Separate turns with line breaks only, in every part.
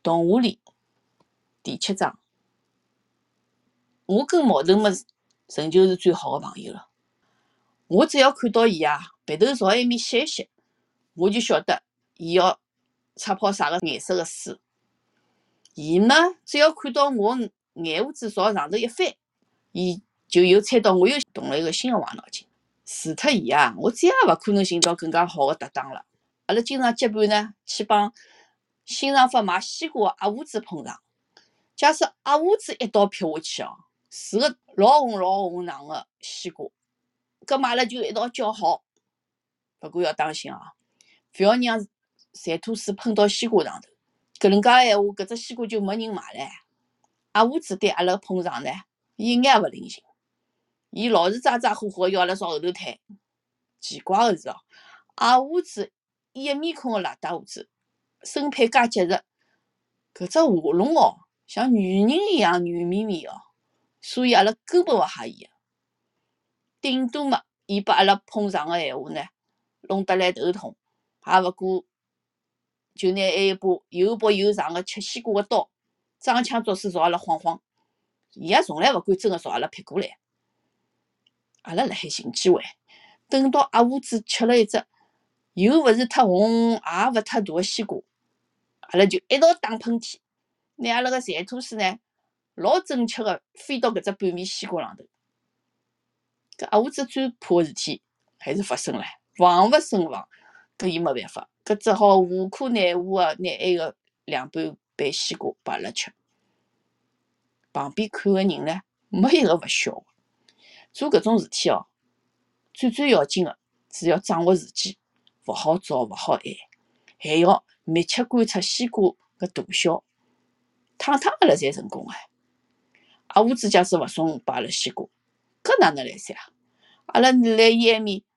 童话里第7章，我跟毛头么仍旧是最好的朋友了。我只要看到伊鼻头朝埃面吸一吸，我就晓得伊要擦泡啥个颜色的水。伊呢，只要看到我眼胡子朝上头一翻，伊就又猜到我又动了一个新的坏脑筋。除脱伊我再也勿可能寻到更加好的搭档了。阿拉经常结伴呢去帮新上发卖西瓜的阿胡子碰上。假使阿胡子一刀劈下去是个老红老红长的西瓜，搿么阿拉就一道叫好。不过要当心勿要让馋吐水喷到西瓜上头。搿能介的闲话，搿只西瓜就没人买了。阿胡子对阿拉碰上呢，伊一眼也勿领情，伊老是咋咋呼呼要阿拉朝后头推。奇怪的是阿胡子一面孔的邋遢胡子，身配介结实，搿只画龙像女人一样软绵绵所以阿拉根本勿吓伊。顶多嘛，伊把阿拉碰上的闲话呢，弄得来头痛，也勿过就拿一把又薄又长的切西瓜的刀，装腔作势朝阿拉晃晃。伊从来勿敢真的朝阿拉劈过来。阿拉辣海寻机会，等到阿胡子吃了一只又勿是太红也勿太大的西瓜，阿拉就一道打喷嚏，拿阿拉个馋吐水呢老准确的飞到搿只半面西瓜浪头。搿阿胡子最怕的事体还是发生了，防勿胜防。搿伊没办法，搿只好无可奈何的拿埃个2半半西瓜拨阿拉吃。旁边看的人呢，没一个勿笑的。做搿种事体最要紧的是要掌握时机，勿好早勿好晚，还要密切观察西瓜的大小。趟阿拉才成功阿胡子假使勿送拨阿拉西瓜，搿哪能来三阿拉辣伊埃面，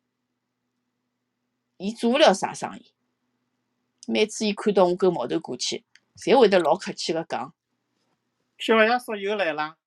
伊做勿了啥生意。每次伊看到我跟毛头过去，侪会得老客气的讲：“
小爷叔又来了。”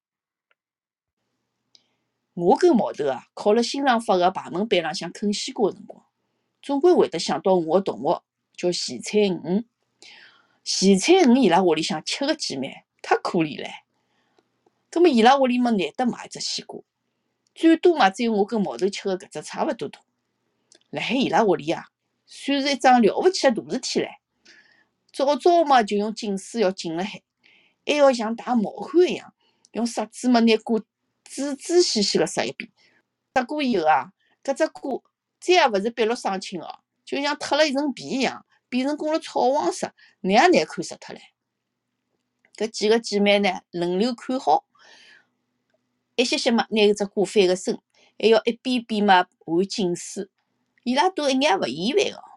我跟毛头考了新上发的排门班浪向啃西瓜的辰光，总归会得想到我的同学叫咸菜鱼。咸菜鱼伊拉屋里向7个姐妹，太可怜了。葛末伊拉屋里么难得买一只西瓜，最多嘛只有我跟毛头吃的搿只差勿多大。辣海伊拉屋里算是一桩了勿起的大事体唻。早早嘛就用浸水要浸辣海，还要像打毛汗一样，用刷子嘛拿瓜仔仔细细的刷一遍。刷过以后搿只瓜再也勿是碧绿生青就像脱了一层皮一样，变成功了草黄色，难也难看死脱了。搿几个姐妹呢，轮流看好，一些些嘛拿搿只瓜翻个身，还要一遍遍嘛含浸水。伊拉都一眼也勿厌烦的。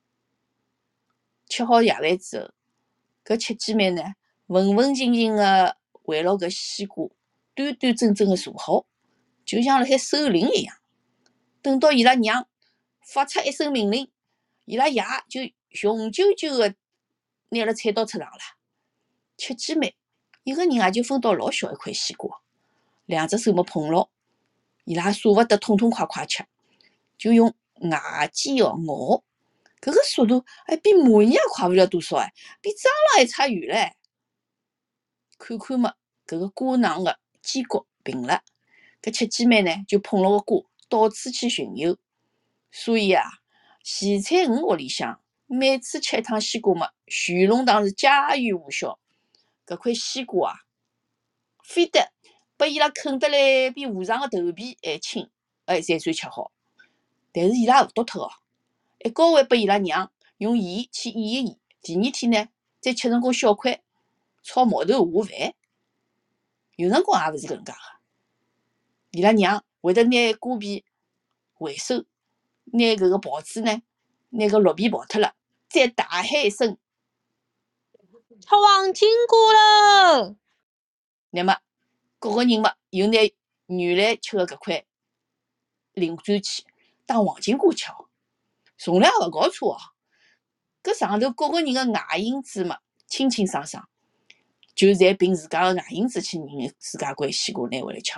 吃好夜饭之后，搿7姐妹呢，文文静静的围牢搿西瓜，端端正正的坐好，就像辣海守灵一样。等到伊拉娘发出一声命令，伊拉爷就雄赳赳的拿了菜刀出场了。7姐妹一个人也就分到老小一块西瓜，2只手么碰牢，伊拉舍勿得痛痛快快吃，就用牙尖咬。搿个速度比蚂蚁也快勿了多少比蟑螂还差远唻。看看嘛，搿个瓜囊的尖角平了，搿7姐妹呢就捧牢个瓜到处去巡游。所以咸菜鱼屋里向每次吃一趟西瓜嘛，全弄堂是家喻户晓。搿块西瓜非得拨伊拉啃得来比和尚的头皮还轻，才算吃好。但是伊拉也勿丢脱还交还拨伊拉娘用盐去腌一腌，第2天呢再切成功小块炒毛头下饭。有辰光也勿是搿能介个，伊拉娘会得拿瓜皮回收，拿搿个刨子呢，拿搿绿皮刨脱了，再大喊一声：“
炒黄金瓜了！”
那么各个人嘛又拿原来吃的搿块领转去当黄金瓜吃从来也勿搞错搿上头各个人的牙印子嘛清清爽爽，就侪凭自家的牙印子去认自家块西瓜拿回来吃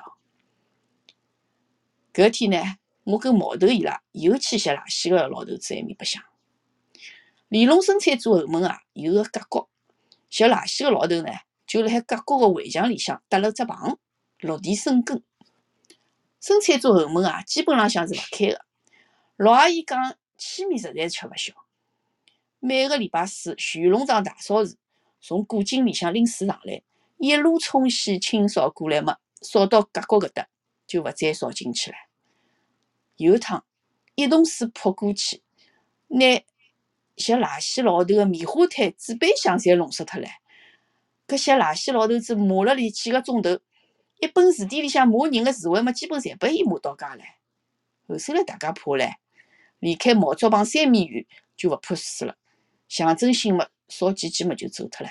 搿天呢，我跟毛头伊拉又去吸垃圾个老头子埃面白相。连龙生产组后门有个角角， 拾垃圾个老头呢，就辣海隔角个围墙里向搭了只棚，落地生根。生产组后门啊，基本浪向是勿开个。老阿姨讲气面实在是吃勿消，每个礼拜四徐弄堂大扫除，从古井里向拎水上来，一路冲洗清扫过来嘛，扫到隔角搿搭就勿再扫进去了。有一趟一桶水泼过去，拿拾垃圾老头个棉花毯、纸杯箱侪弄湿脱了。搿拾垃圾老头子骂了里几个钟头，一本字典里向骂人个词汇嘛，基本侪拨伊骂到家了。后首来大家怕唻，离开毛竹棚3米远就勿泼水了，象征性嘛扫几记嘛就走脱了。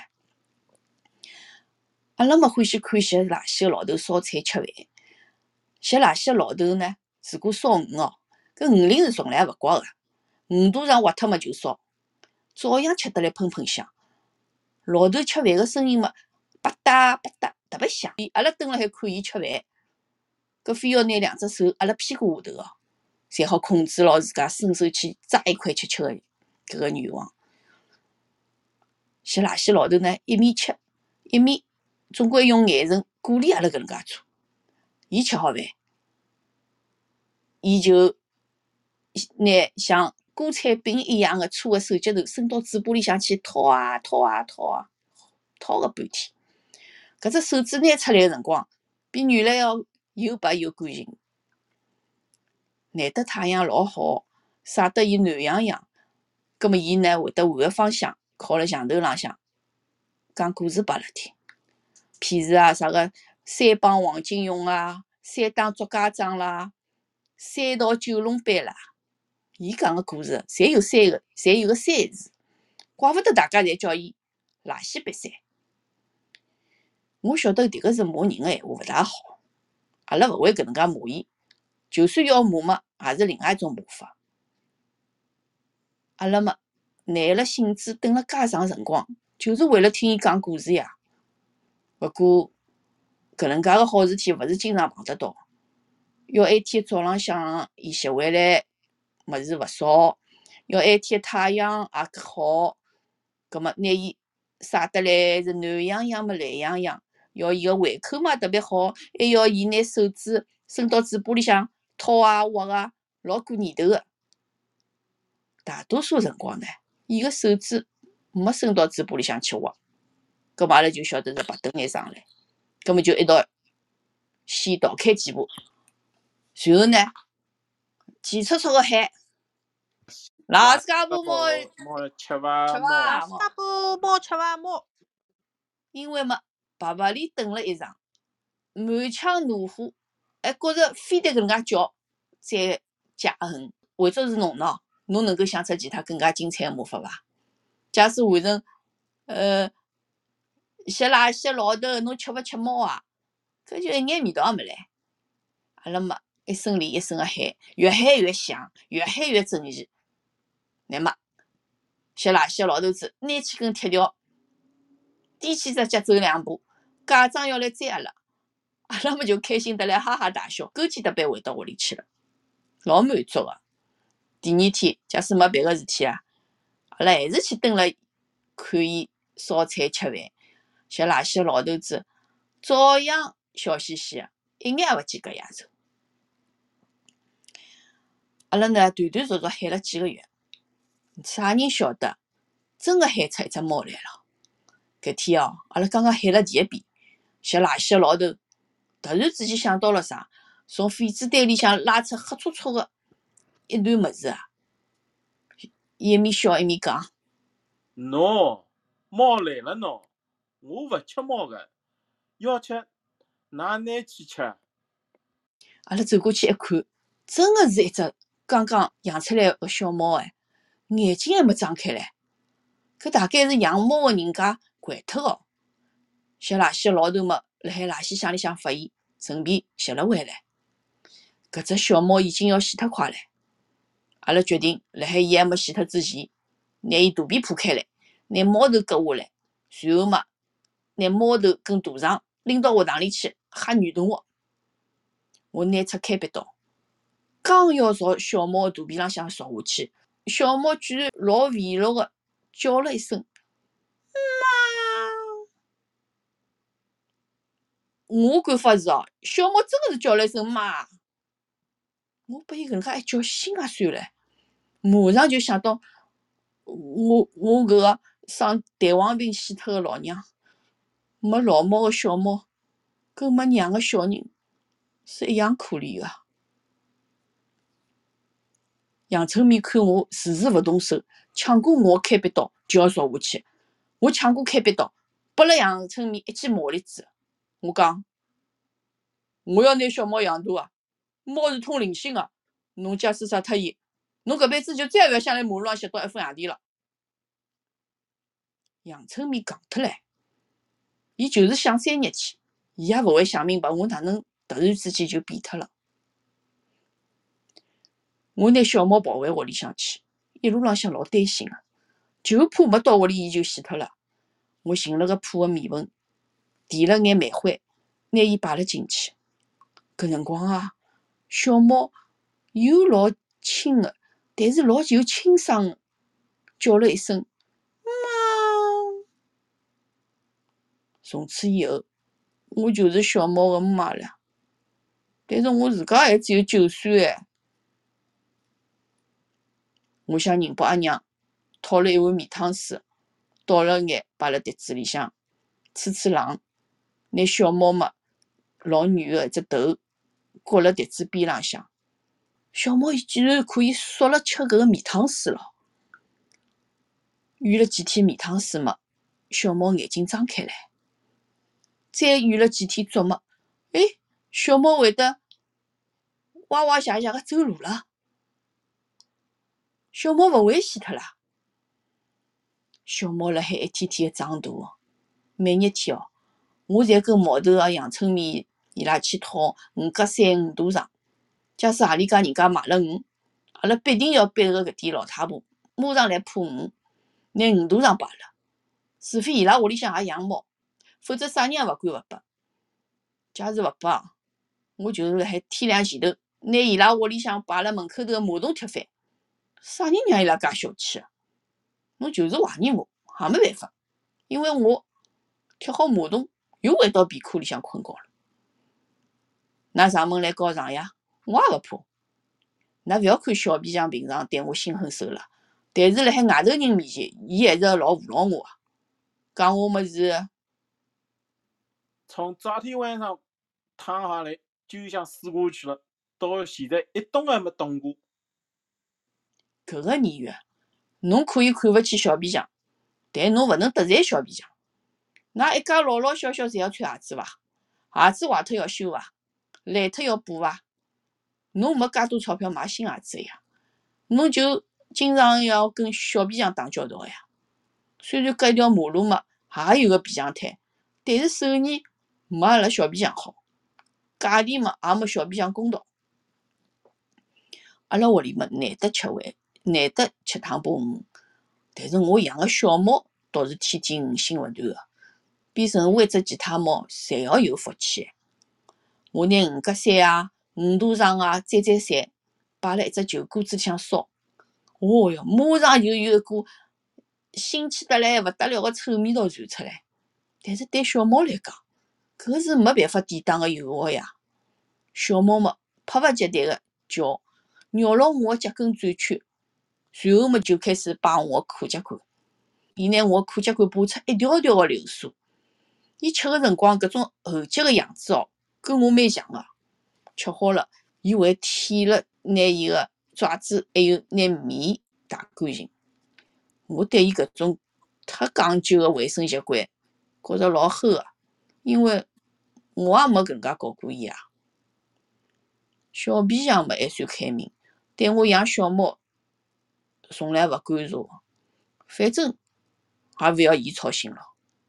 阿拉嘛欢喜看拾垃圾个老头烧菜吃饭。拾垃圾个老头呢，如果烧鱼哦，搿鱼鳞是从来勿刮个，鱼肚上挖脱嘛就烧，照样吃得来喷喷香。老头吃饭个声音嘛，吧嗒吧嗒，特别响。阿拉蹲辣海看伊吃饭，搿非要拿2只手压辣屁股下头哦，才好控制牢自家伸手去抓一块吃个搿个愿望。拾垃圾老头呢，一面吃一面总归用眼神鼓励阿拉搿能介做。伊吃好饭，伊就拿像锅铲柄一样个粗个手脚头伸到嘴巴里向去掏啊掏啊掏啊，掏个半天。搿只手指拿出来个辰光，比原来要又白又干净。难得太阳老好，晒得伊暖洋洋，葛末伊呢会得换个方向，靠辣墙头浪向讲故事拨阿拉听。譬如啊，啥个三帮黄金蛹啊，三打竹家庄啦，三道九龙班啦，伊讲个故事侪有个三字，怪勿得大家侪叫伊垃圾瘪三。我晓得迭个是骂人个闲话勿大好，阿拉勿会搿能介骂伊，就算要骂嘛，也是另外一种骂法。阿拉嘛，耐了性子等了介长辰光，就是为了听伊讲故事呀。勿过搿能介个好事体勿是经常碰得到，要埃天早浪向伊拾回来物事勿少，要埃天太阳也搿好，葛末拿伊晒得来是暖洋洋嘛蓝洋洋，要伊个胃口嘛特别好，还要伊拿手指伸到嘴巴里向掏啊挖啊，老过年头个。大多数辰光呢，伊个手指没伸到嘴巴里向去挖，葛末阿拉就晓得是白等眼上来，葛末就一道先逃开几步，随后呢，急促促个喊：“垃圾家部
猫吃伐
吃
猫？
伐
大布摸吃伐摸？
因为嘛，白白里等了一场，满腔怒火，还觉着非得搿能介叫才解恨。换作是侬喏，侬能够想出其他更加精彩个骂法伐？假使换成拾垃圾老头，侬吃勿吃猫啊？搿就一眼味道也没来。阿拉嘛一声连一声个喊，越喊越响，越喊越正义。乃末拾垃圾老头子拿起根铁条，踮起只脚走2步，假装要来追阿拉。阿拉么就开心得来哈哈大笑，勾肩搭背回到屋里去了，老满足个。第2天，假使没别个事体啊，阿拉还是去蹲了看伊烧菜吃饭。拾垃圾老头子照样笑嘻嘻个，一眼也勿见搿丫头。阿拉呢断断续续喊了几个月，啥人晓得真个喊出一只猫来了。搿天哦，阿拉刚刚喊了第1遍，拾垃圾个老头突然之间想到了啥，从痱子袋里向拉出黑粗粗个一段物事啊！伊一面笑一面讲：“
喏，猫来了喏，我勿吃猫个，要吃㑚拿去吃。”
阿拉走过去一看，真个是一只刚刚养出来个小猫哎，眼睛还没张开唻。搿大概是养猫个人家惯脱哦。拾垃圾老头嘛，辣海垃圾箱里向发现，顺便拾了回来。搿只小猫已经要死脱快唻。阿拉决定辣海伊还没死脱之前，拿伊肚皮破开来，拿猫头割下来，随后嘛，拿猫头跟大肠拎到学堂里去吓女同学。我拿出开笔刀，刚要朝小猫个肚皮浪向戳下去，小猫居然老委屈个叫了一声“妈”， 我看法是哦，小猫真个是叫了一声妈，我被伊搿能介一叫心也酸了，马上就想到我搿个生蛋黄病死脱个老娘，没老猫个小猫，跟没娘个小人是一样可怜个。杨春明看我迟迟勿动手，抢过我开笔刀就要戳下去。我抢过开笔刀，拨了杨春明一记毛栗子。我讲，我要拿小猫养大啊，猫是通灵性个，侬假使杀脱伊，侬搿辈子就再也勿要想来马路上拾到一副洋钿了。杨春明戆脱唻，伊就是想3日去，伊也勿会想明白我哪能突然之间就变脱了。我拿小猫抱回屋里向去，一路浪向老担心个，就怕没到屋里伊就死脱了。我寻了个破个面盆，提了眼煤灰，拿伊摆了进去。搿辰光啊，小猫又老轻个，但是老有清爽个，叫了一声妈。从此以后，我就是小猫个妈了。但是我自家还只有9岁哎。我向宁波阿娘讨了一碗面汤水，倒了眼摆辣碟子里向，吹吹冷，拿小猫嘛老软个一只头搁辣碟子边浪向。小猫竟然可以缩了吃搿个面汤水了。浴了几天面汤水嘛，小猫眼睛张开来。再浴了几天足嘛，小猫会得哇哇谢谢个走路了。小猫勿会死脱啦。小猫辣海一天天个长大，每日天哦，我侪跟毛头个杨春明伊拉去讨5角35大肠。假使何里家人家买了鱼，阿拉必定要逼个搿点老太婆马上来破鱼，拿5大肠摆了。除非伊拉屋里向也养猫，否则啥人也勿敢勿拨。假使勿拨，我就是辣海天亮前头拿伊拉屋里向摆辣门口头个马桶踢翻。啥人让伊拉介小气啊？侬就是怀疑我，也没办法，因为我踢好马桶又回到被窝里向困觉了。㑚上门来告状呀，我也勿怕。㑚勿要看小皮匠平常对我心狠手辣，但是辣海外头人面前，伊还是老扶牢我个。讲我么是
从昨天晚上躺下来就想死过去了，到现在一动也没动过。
搿个年月，侬可以看勿起小皮匠，但侬勿能得罪小皮匠。㑚一家老老小小侪要穿鞋子伐？鞋子坏脱要修伐？烂脱要补伐？侬没介多钞票买新鞋子呀，侬就经常要跟小皮匠打交道呀。虽然隔一条马路嘛，也有个皮匠摊，但是手艺没阿拉小皮匠好，价钿嘛也没小皮匠公道。阿拉屋里嘛难得吃饭，难得吃汤把鱼，但是我养个小猫倒是天天鱼腥勿断个，比任何一只其他猫侪要有福气。我拿5角3啊、5大肠啊、蘸蘸摆辣一只旧锅子里向烧，哦哟，马上就有一股腥气得来勿得了个臭味道传出来。但是对小猫来讲，搿是没办法抵挡个诱惑呀。小猫嘛，迫勿及待个叫，绕牢我个脚跟转圈，随后嘛就开始摆我个裤脚管。伊拿我个裤脚管拔出一条条个流苏。伊吃个辰光搿种厚结个样子哦，跟我蛮像个。吃好了，伊会舔了拿伊个爪子还有拿面汏干净。我对伊搿种太讲究个卫生习惯觉着老齁个，因为我也没搿能介教过伊啊。小皮匠嘛还算开明，对我养小猫从来勿干涉，反正也勿要伊操心咯。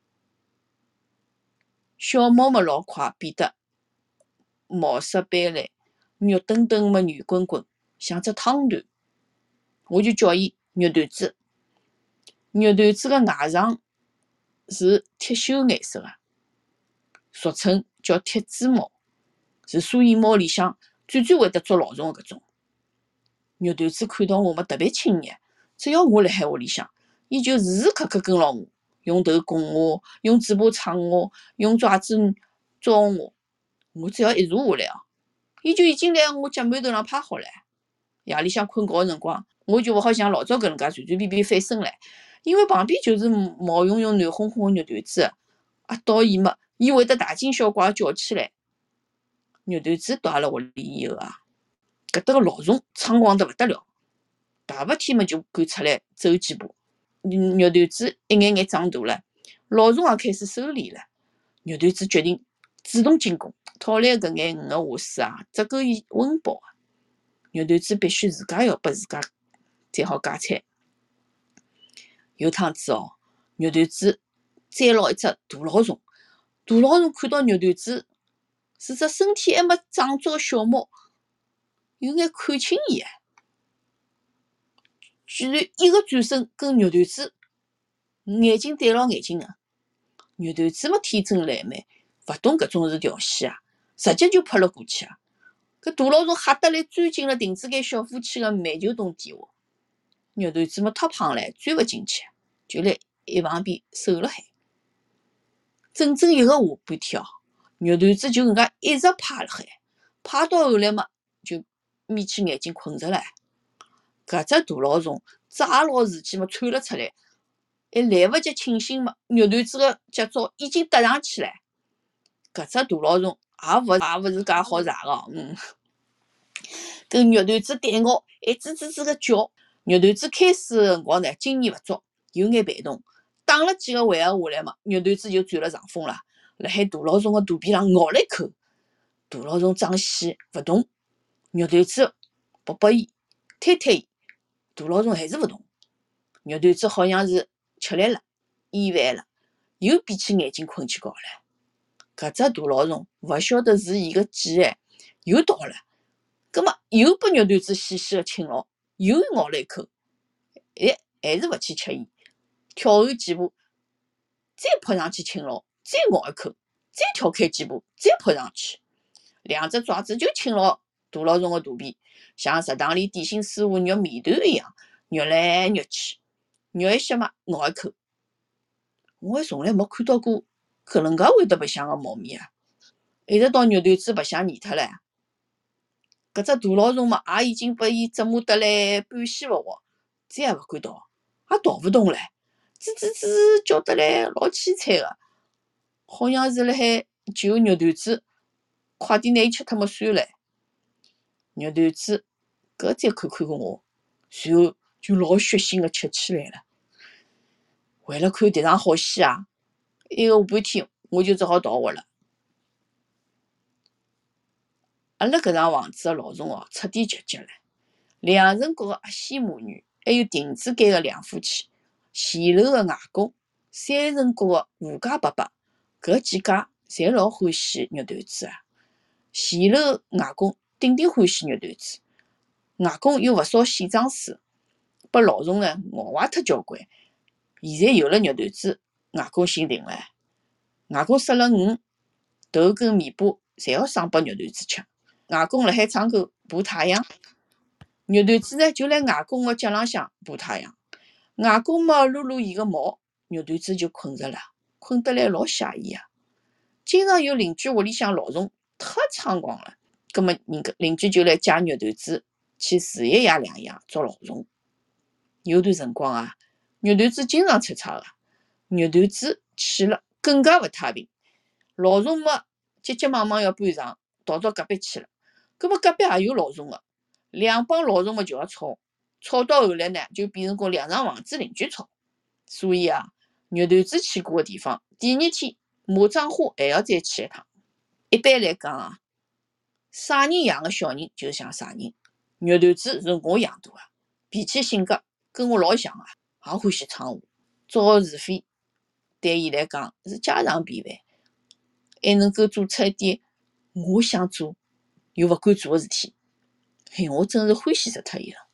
小猫嘛老快变得毛色斑斓，肉墩墩嘛圆滚滚，像只汤团。我就叫伊肉团子。肉团子个外肠是铁锈颜色个，俗称叫铁猪猫，是所有猫里向最会得捉老虫个搿种。肉团子看到我嘛特别亲热，只要我辣海屋里向，伊就时时刻刻跟牢我，用头拱我，用嘴巴蹭我，用爪子抓我， 我只要一坐下来伊就已经辣我脚馒头上趴好了。夜里向困觉个辰光，我就勿好像老早搿能介随随便便翻身唻，因为旁边就是毛茸茸、暖烘烘个肉团子，到伊嘛，伊会得大惊小怪叫起来。肉团子到阿拉屋里以后搿搭个老虫猖狂得勿得了，大白天嘛就敢出来走几步。肉团子一眼眼长大了，老虫也开始收敛了。肉团子决定主动进攻，讨来搿眼鱼个下水只够伊温饱个。肉团子必须自家要拨自家才好解餐。有趟子肉团子追牢一只大老虫，大老虫看到肉团子是只身体还没长足个小猫，有眼看轻伊居然一个转身跟肉团子眼睛对牢眼睛个。肉团子嘛天真烂漫，勿懂搿种是调戏直接就扑了过去搿大老虫吓得来钻进了亭子间小夫妻个煤球洞底下。肉团子嘛太胖唻，钻勿进去，就辣一旁边守了海。整整一个下半天肉团子就搿能介一直趴辣海，趴到后来嘛就眯起眼睛困着了。搿只大老虫抓牢时机嘛窜了出来，还来勿及清醒嘛，肉团子个脚爪已经搭上去了。搿只大老虫也勿是介好查个，跟肉团子对咬，还吱吱吱个叫。肉团子开始个辰光呢，经验勿足，有眼被动，打了几个回合下来嘛，肉团子就占了上风了，辣海大老虫个肚皮上咬了一口。大老虫张死勿动，肉团子拨伊，推伊，大老虫还是勿动。肉团子好像是吃力了，厌烦了，又闭起眼睛困去觉了。搿只大老虫勿晓得是伊个记忆又到了，葛末又拨肉团子细细个亲牢，又咬了一口，还是勿去吃伊，跳后几步，再扑上去亲牢，再咬一口，再跳开几步，再扑上去，两只爪子就亲牢大老虫个肚皮，像食堂里点心师傅肉面团一样，肉来肉去，肉一歇嘛咬一口。我还从来没看到过搿能介会得白相个猫咪一直到肉团子白相腻脱了，搿只大老虫嘛也已经拨伊折磨得来半死勿活，再也勿敢逃，也逃勿动了，吱吱吱叫得来老凄惨个，好像是辣海求肉团子快点拿伊吃脱么算了。肉团子搿再看看我，随后就老血腥个吃起来了。为了看迭场好戏一个下半天我就只好逃活了。阿拉搿场房子个老虫彻底绝迹了。两层角个阿西母女，还有亭子间个两夫妻，前楼个外公，三层角个吴家伯伯，搿几家侪老欢喜肉团子前楼外公顶顶欢喜肉团子，外公又勿少线装书，拨老虫呢咬坏脱交关。现在有了肉团子，外公心定了。外公杀了鱼，头跟尾巴侪要生拨肉团子吃。外公辣海窗口爬太阳，肉团子呢就辣外公个脚浪向爬太阳。外公嘛撸撸伊个毛，肉团子就困着了，困得来老写意经常有邻居屋里向老虫太猖狂了，葛末邻居就来借肉团子去住一夜两夜捉老虫。有段辰光肉团子经常出差个，肉团子去了更加勿太平，老虫嘛急急忙忙要搬场，逃到隔壁去了。葛末隔壁也有老虫个，两帮老虫嘛就要吵，吵到后来呢就变成过两幢房子邻居吵。所以肉团子去过个地方，第二天马掌花还要再去一趟。一般来讲啥人养个小人就像啥人。肉团子是我养大个，脾气性格跟我老像也欢喜闯祸，找是非，对伊来讲是家常便饭，还能够做出一点我想做又勿敢做个事体，我真是欢喜死脱伊了。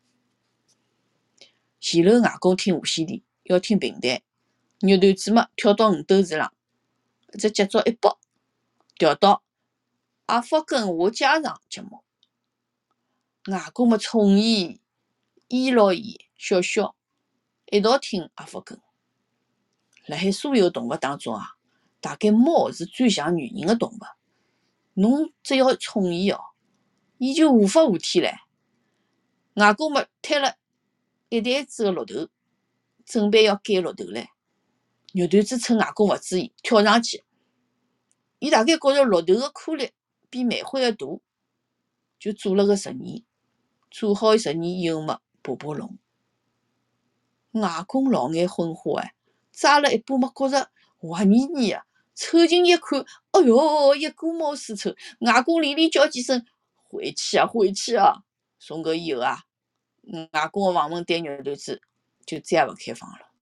前楼外公听无线电，要听评弹，肉团子嘛跳到五斗池浪，只脚爪一拨，调到阿福跟我家常节目。外公嘛宠伊，依牢伊，笑笑，一道听阿福跟。辣海所有动物当中大概猫是最像女人的动物。 侬只要宠伊哦，伊就无法无天唻。外公嘛推了一担子个骆头，准备要赶骆头唻。肉团子趁外公勿注意，跳上去。伊大概觉着骆头个颗粒比煤灰个大，就做了个实验。做好实验以后嘛，爬爬龙。外公老眼昏花抓了一把嘛，觉着滑腻腻个，凑近一看，哎哟，一股毛丝臭。外公连连叫几声：“回去啊，回去啊！”从搿以后外公个房门对肉团子就再也勿开放了。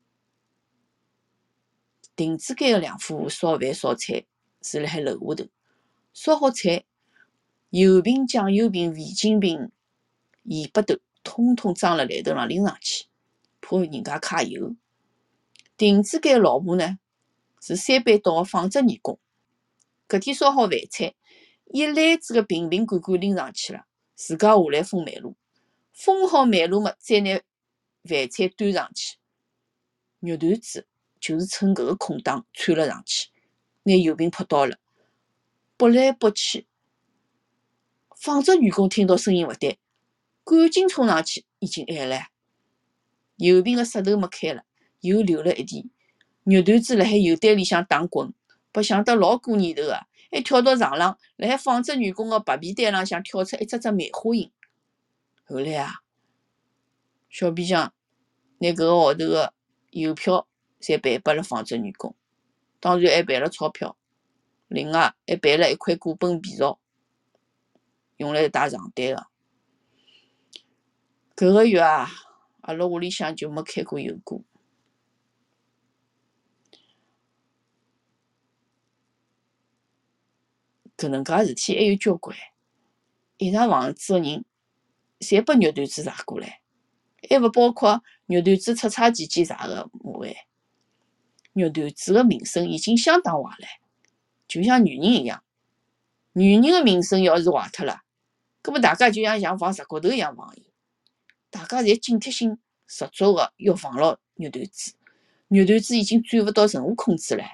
亭子间个两夫妇烧饭烧菜是辣海楼下头，烧好菜，油瓶、酱油瓶、味精瓶、盐巴头，统统装辣来头上拎上去，怕人家揩油。亭子间老婆呢，是三班倒个纺织女工。搿天烧好饭菜，一篮子个瓶瓶罐罐拎上去了，自家下来封煤炉。封好煤炉嘛，再拿饭菜端上去。肉团子就是趁搿个空档窜了上去，拿油瓶扑倒了，拨来拨去。纺织女工听到声音勿对，赶紧冲上去，已经晚了。油瓶个塞头没开了，油流了一地。肉团子辣海油堆里向打滚，白相得老过年头个，还跳到床浪，辣海纺织女工个白被单浪向跳出一只只梅花形。后来小皮匠拿搿个号头个邮票侪赔拨了纺织女工，当然还赔了钞票，另外还赔了一块古本皮草，用来汏床单个。搿个月阿拉屋里向就没开过油锅。搿能介事体还有交关，一幢房子个人侪拨肉团子查过来，还勿包括肉团子出差期间查个麻烦。肉团子个名声已经相当坏了，就像女人一样。女人个名声要是坏脱了，搿么大家就像防石骨头一样防伊。大家侪警惕性十足个要防牢肉团子。肉团子已经转勿到任何空子了。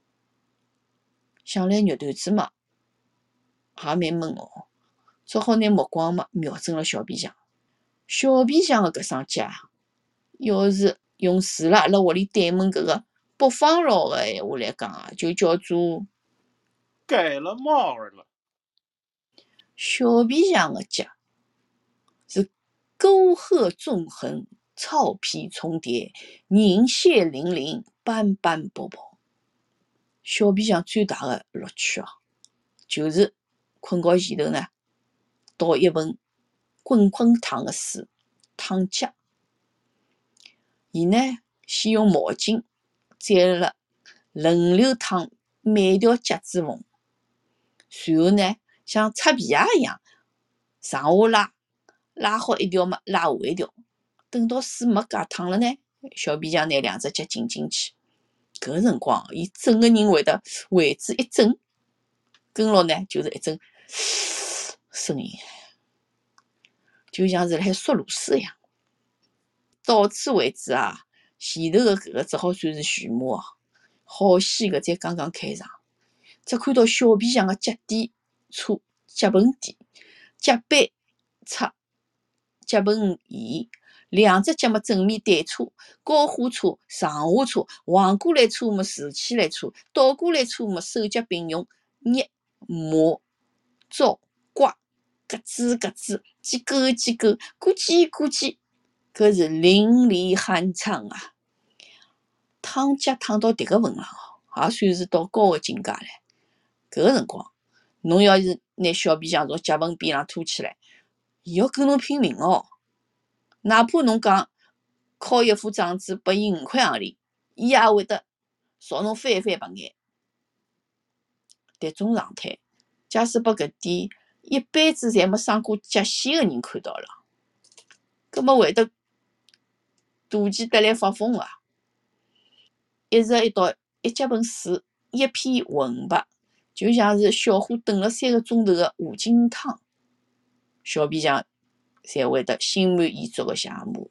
想来肉团子嘛，也蛮闷哦，只好拿目光嘛瞄准了小皮匠。小皮匠个搿双脚，要是用住辣阿拉屋里对门搿个北方佬个闲话来讲就叫做
改了帽儿了。
小皮匠个脚是沟壑纵横，草皮重叠，凝血淋淋，斑斑驳驳。小皮匠最大个乐趣就是困觉前头呢，倒一盆滚滚烫个水烫脚。伊呢，先用毛巾蘸了轮流烫每条脚趾缝，随后呢，像擦皮鞋一样上下拉，拉好一条嘛，拉下一条。等到水没介烫了呢，小皮匠拿两只脚浸进去。搿辰光，伊整个人会得为之一震，跟牢呢就是一阵声音，就像是辣海缩螺丝一样。到此为止前头个搿个只好算是序幕好戏搿才刚刚开场。只看到小皮匠个脚底擦脚盆底，脚背擦脚盆沿，两只脚嘛正面对擦，高下擦，上下擦，横过来擦嘛，竖起来擦，倒过来擦嘛，手脚并用，捏磨糟刮，咯吱咯吱，几勾几勾，咕叽咕叽，搿是淋漓酣畅烫脚烫到迭个份上也算是到高个境界了。搿个辰光，侬要是拿小皮匠从脚盆边浪拖起来，伊要跟侬拼命哪怕侬讲敲一副掌子拨伊5块行钿，伊也会得朝侬翻翻白眼。迭种状态，假使拨搿点一辈子侪没生过脚线个人看到了，葛末会得妒忌得来发疯一日一道一脚盆水，一片浑白，就像是小火炖了3个钟头个五斤汤。小皮匠才会得心满意足个谢幕。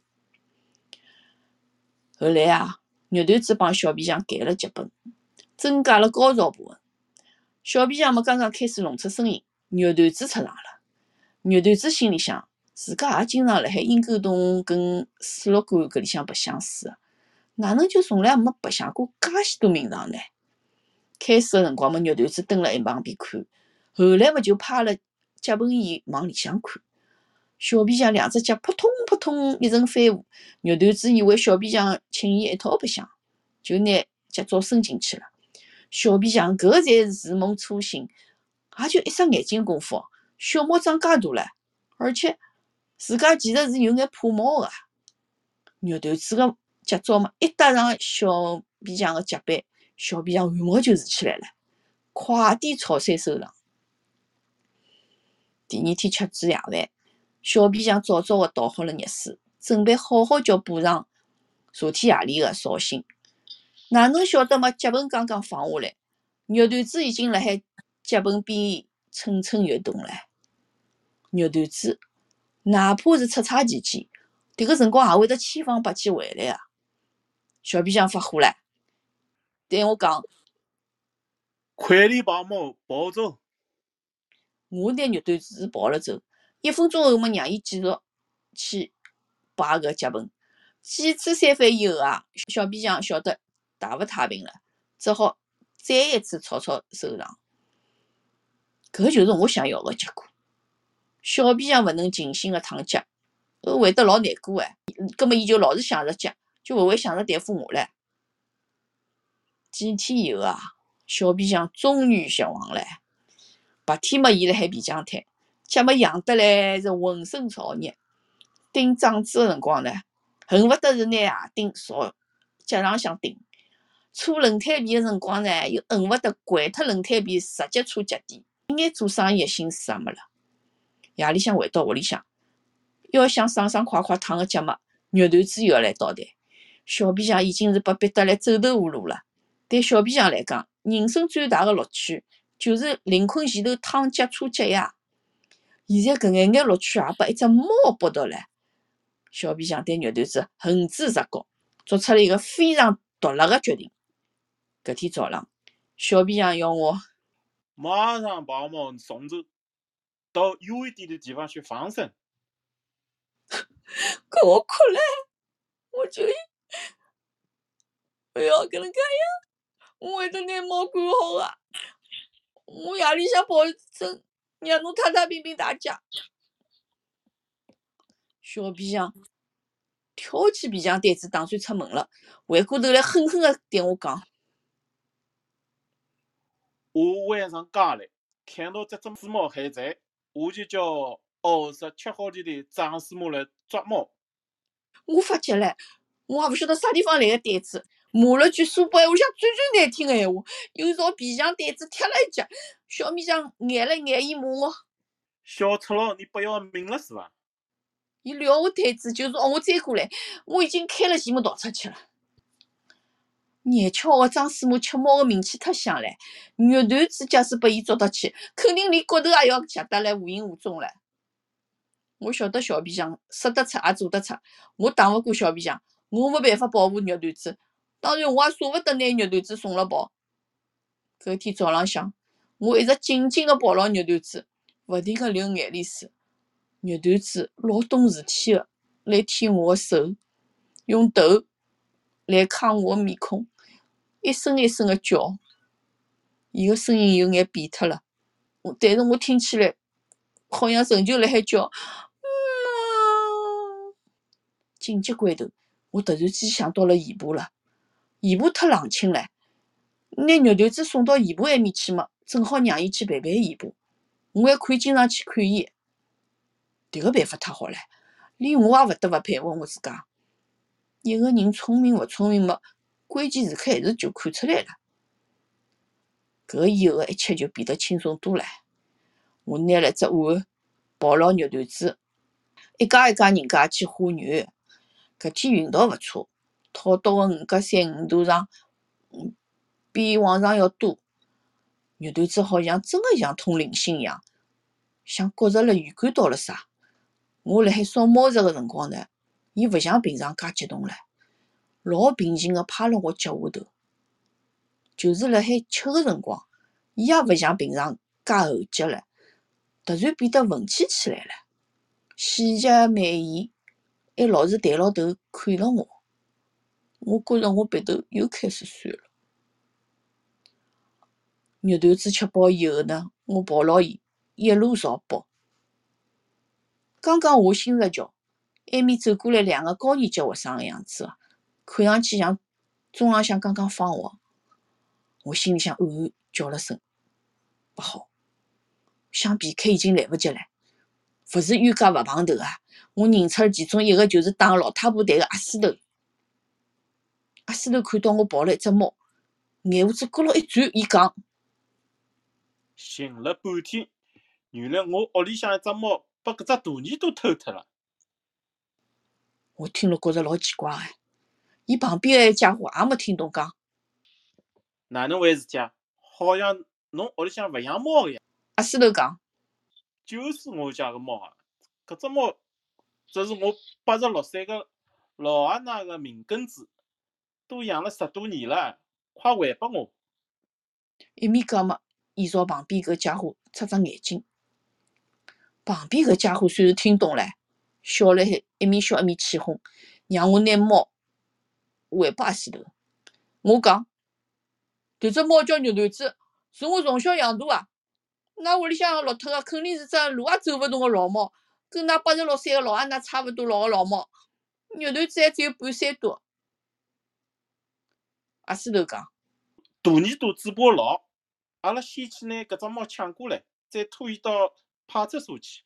后来肉团子帮小皮匠改了脚本，增加了高潮部分。 小皮匠刚刚开始弄出声音，肉团子出场了。肉团子心里想，自家也经常辣海阴沟洞跟水族馆搿里向白相水，哪能就从来没白相过介许多名堂呢？开始个辰光肉团子蹲辣一旁边看，后来就趴了脚盆椅往里向看。小皮匠两只脚扑通扑通一阵翻舞，肉团子以为小皮匠请伊一道白相，就拿脚爪伸进去了。小皮匠搿才是如梦初醒，也就一眨眼睛功夫，小猫长介大了，而且自家其实是有眼怕猫个。肉团子个脚爪嘛，一搭上小皮匠个脚板，小皮匠汗毛就竖起来了，快点草山收场。第二天吃子夜饭，小皮匠早早个倒好了热水，准备好好叫补偿昨天夜里个扫兴。哪能晓得嘛？脚盆刚刚放下来，肉团子已经辣海脚盆边蠢蠢欲动了。肉团子哪怕是出差期间，迭个辰光也会得千方百计回来啊！小皮匠发火了，对我讲：“
快点把猫抱走！”
我拿肉团子抱了走。1分钟后么，让伊继续去摆搿脚盆。几次三番以后啊，小皮匠晓得大勿太平了，只好再一次草草收场。搿就是我想要个结果。小皮匠勿能尽兴个躺脚，会得老难过哎。葛末伊就老是想着脚，就勿会想着对付我唻。几天以后啊，小皮匠终于绝望了。白天嘛，伊辣海皮匠摊，脚嘛痒得来是浑身燥热。钉掌子个辰光呢，恨勿得是拿鞋钉朝脚上向钉。搓轮胎皮个辰光呢，又恨勿得掼脱轮胎皮直接搓脚底。一眼做生意个心思也没了。夜里向回到屋里向，要想爽爽快快躺个脚嘛，肉团子又要来捣蛋。小皮匠已经是被逼得来走投无路了。对小皮匠来讲，人生最大个乐趣就是临困前头躺脚搓脚呀。现在搿眼乐趣也被一只猫剥夺了。小皮匠对肉团子恨之入骨，做出了一个非常毒辣个决定。搿天早浪，小皮匠要我
马上把猫送走，到远一点的地方去放生。
搿我哭了，我就不要搿能介样，我会得拿猫管好个。我夜里向保证让侬太太平平大家。小皮匠挑起皮匠单子，打算出门了，回过头来狠狠个对我讲：“
我晚上家来看到这只死猫还在，我就叫20吃好的张师母来抓猫。”
我发急了，我也勿晓得啥地方来个胆子，骂了句苏北话里向最最难听个闲话，又朝皮匠胆子踢了一脚。小皮匠眼了眼，伊骂我：“
小赤佬，你不要命了是吧？”
伊撂我摊子，就是让我追过来。我已经开了前门逃出去了。眼巧个张师母吃猫个名气太响唻，肉团子假使被伊捉得去，肯定连骨头也要夹得来无影无踪了。我晓得小皮匠说得出也做得出，我打勿过小皮匠，我没办法保护肉团子，当然我也舍勿得拿肉团子送了跑。搿天早浪向，我一直紧紧个抱牢肉团子，勿停个流眼泪水。肉团子老懂事体个来舔我个手，用头来揩我个面孔，一声一声个叫。伊个声音有眼变脱了，但是我听起来好像仍旧辣海叫。紧急关头，我突然间想到了姨婆了。姨婆太冷清了，拿肉团子送到姨婆埃面去嘛，正好让伊去陪陪姨婆，我还可以经常去看伊。迭个办法太好了，连我也勿得勿佩服我自家。一个人聪明勿聪明嘛，关键时刻还是就看出来了。搿以后的一切就变得轻松多了。我拿了只碗抱牢肉团子，一家一家人家去画肉。搿天运道勿错，讨到个五角山鱼肚上比往常要多。肉团子好像真个像通灵性一样，像觉着了预感到了啥。我辣海烧猫食个辰光呢，伊勿像平常介激动了，老平静个趴辣我脚下头。就是辣海吃个辰光， 伊也勿像平常介厚脚了，突然变得文气起来了，喜极美言，还老是抬牢头看了我。我觉着我鼻头又开始酸了。肉团子吃饱以后呢，我抱牢伊一路朝北。刚刚下新石桥，埃面走过来2个高年级学生的样子，看上去像中浪向刚刚放学。我心里向暗暗叫了声不好，想避开已经来不及了。勿是冤家勿碰头啊！我认出了其中一个就是打老太婆队的阿斯头。阿斯头看到我抱了一只猫，眼胡子咕噜一转，伊讲：
寻了半天，原来我屋里向一只猫被搿只大耳朵偷脱了。
我听了觉着老奇怪的。伊旁边的家伙也没听懂讲。
哪能回事体啊？好像侬屋里向勿养猫个呀？
阿斯头讲：
就是我家个猫啊！搿只猫这是我86岁个老阿奶个命根子，都养了10多年了，快还拨我！
一面讲嘛，伊朝旁边搿家伙擦擦眼睛。旁边搿家伙虽然听懂了，笑了海，一面笑一面起哄，让我拿猫还拨阿斯头。我讲：迭只猫叫肉团子，是我从小养大啊。㑚屋里向落脱个肯定是只路也走勿动个老猫，跟㑚86岁个老阿奶差勿多老个老猫。肉团子还只有半岁多。阿斯头讲：
大耳朵嘴巴老，阿拉先去拿搿只猫抢过来，再拖伊到派出所去。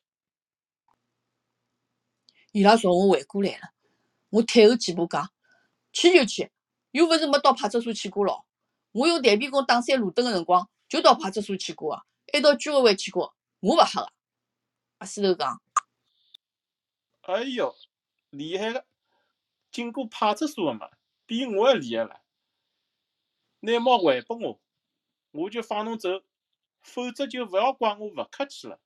伊拉朝我围过来了，我退后几步讲：去就去，又勿是没到派出所去过咯。我用弹皮弓打3路灯个辰光，就到派出所去过啊，还到居委会去过，我勿黑个。阿斯头讲：
哎哟，厉害个！经过派出所个嘛，比我还厉害了。拿猫还拨我，我就放侬走，否则就勿要怪我勿客气了。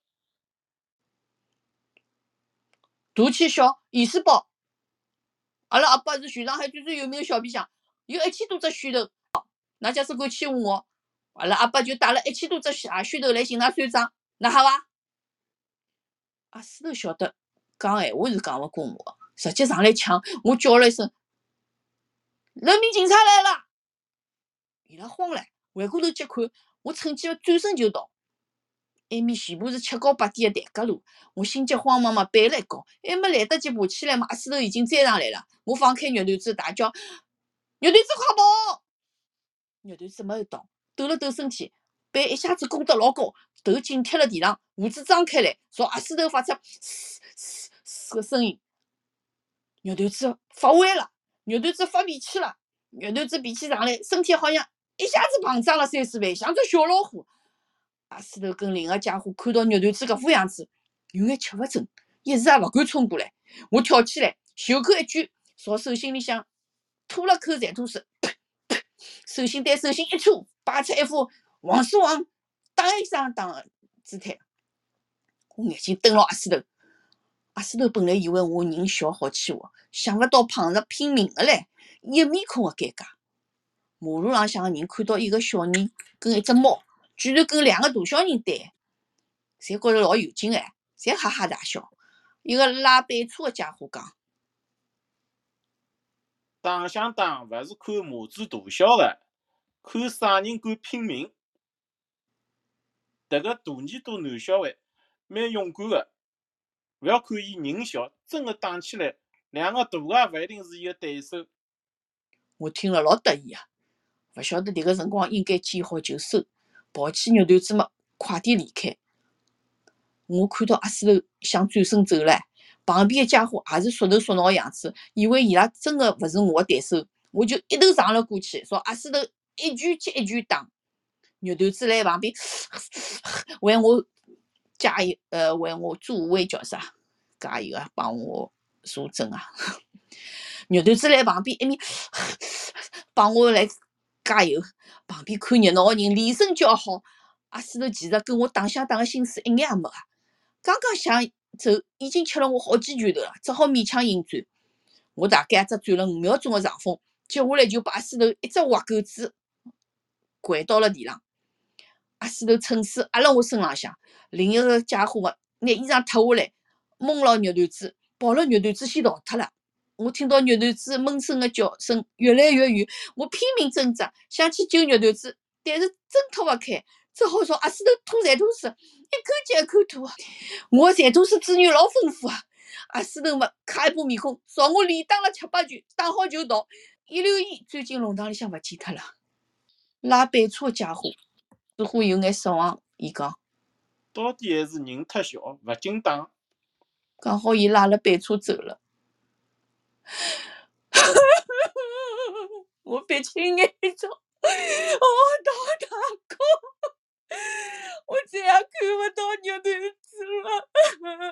大气小，意思包。阿拉阿爸是全上海最最有名的小皮匠，有1000多只虚头。㑚假使敢欺负我，阿拉阿爸就带了1000多只虚头来寻㑚算账，㑚吓伐？阿斯头晓得讲闲话是讲勿过我，直接上来抢。我叫了一声：人民警察来了！伊拉慌了，回过头去看，我趁机转身就逃。埃面全部是7高8低的台阶路，我心急慌忙嘛爬了一高，还没来得及爬起来嘛，阿斯头已经追上来了。我放开肉团子大叫：肉团子快跑！肉团子没有逃，抖了抖身体，背一下子弓得老高，头紧贴了地上，胡子张开来，朝阿斯头发出嘶嘶嘶个声音。肉团子发威了，肉团子发脾气了，肉团子脾气上来，身体好像一下子膨胀了30倍，像只小老虎。阿斯头跟另一个家伙看到肉团子搿副样子，有眼吃勿准，一时也勿敢冲过来。我跳起来，袖口一举，朝手心里向吐了口馋吐水，手心对手心一搓，摆出一副王叔王打一声打的姿态。我眼睛瞪牢阿斯头，阿斯头本来以为我人小好欺负，想勿到碰着拼命的唻，一面孔的尴尬。马路浪向的人看到一个小人跟一只猫，居然跟2个大小人对，侪觉着老有劲哎，侪哈哈大笑。一个拉板车的家伙讲：
打相打勿是看马子大小的，看啥人敢拼命。迭个大耳朵男小孩蛮勇敢的，勿要看伊人小，真的打起来，2个大个也勿一定是伊的对手。
我听了老得意啊，勿晓得迭个辰光应该见好就收，抱起肉团子嘛，快点离开。我看到阿斯头想转身走了，旁边的家伙也是缩头缩脑的样子，以为伊拉真的勿是我的对手，我就一头撞了过去，朝阿斯头一拳接一拳打。肉团子来旁边为我加油，为我助威叫啥？加油啊，帮我助阵啊！肉团子来旁边一面帮我来加油，旁边看热闹的人连声叫好。阿斯头其实跟我打相打的心思一眼也没啊，刚刚想走，已经吃了我好几拳头了，只好勉强硬转。我大概只转了5秒钟的上风，接下来就把阿斯头一只滑狗子掼到了地上。 阿四头趁势压辣我身浪向，另一个家伙拿衣裳脱下来，蒙牢肉团子，跑了肉团子先逃脱了。我听到肉团子闷声的叫声越来越远，我拼命挣扎，想去救肉团子，但是挣脱不开，只好朝阿四头吐馋吐水，一口接一口吐。我馋吐水资源老丰富啊！阿四头卡一把面孔，朝我连打了7-8拳，打好就逃，一溜烟钻进弄堂里向勿见脱了。拉板车家伙似乎有眼失望，伊讲
到底还是人太小，勿经打。
刚好伊拉了板车走了。我闭起眼睛，大哥，我再也看不到肉团子了。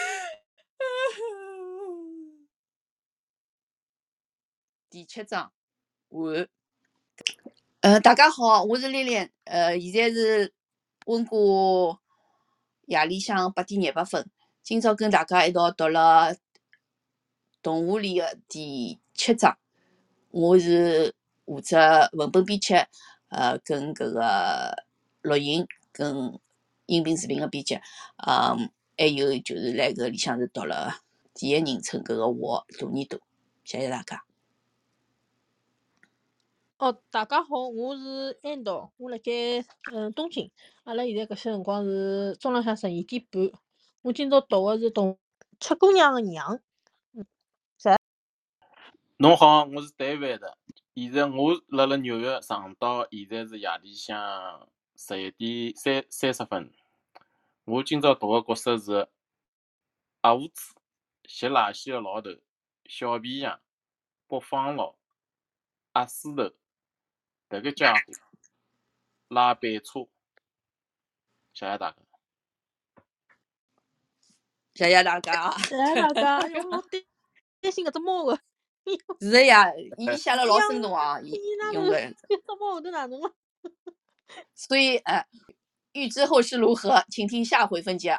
第7章完。大家好，我是丽丽。现在是温哥夜里向8点28分。今朝跟大家一道读了动画里的第7章。我是负责文本编辑，跟搿个录音跟音频视频的编辑，还有就是来搿里向是读了第一人称搿个我大耳朵，谢谢大家。
大家好，我是安道，我辣盖东京。阿拉现在搿些辰光是中浪向12点半。我今朝读的是七姑娘的娘。
侬好，我是David。现在我辣辣纽约上岛，现在是夜里向11点30分。我今朝读的角色是阿五子、吸垃圾的老头、小皮匠、北方佬、阿四头，迭个家伙拉板车。谢谢大家。
谢谢大家。
谢谢大家。哎哟，老担心搿只猫个。
是的呀，伊写了老生动啊，伊用个。
这猫后头哪能了？
所以预知后事如何，请听下回分解。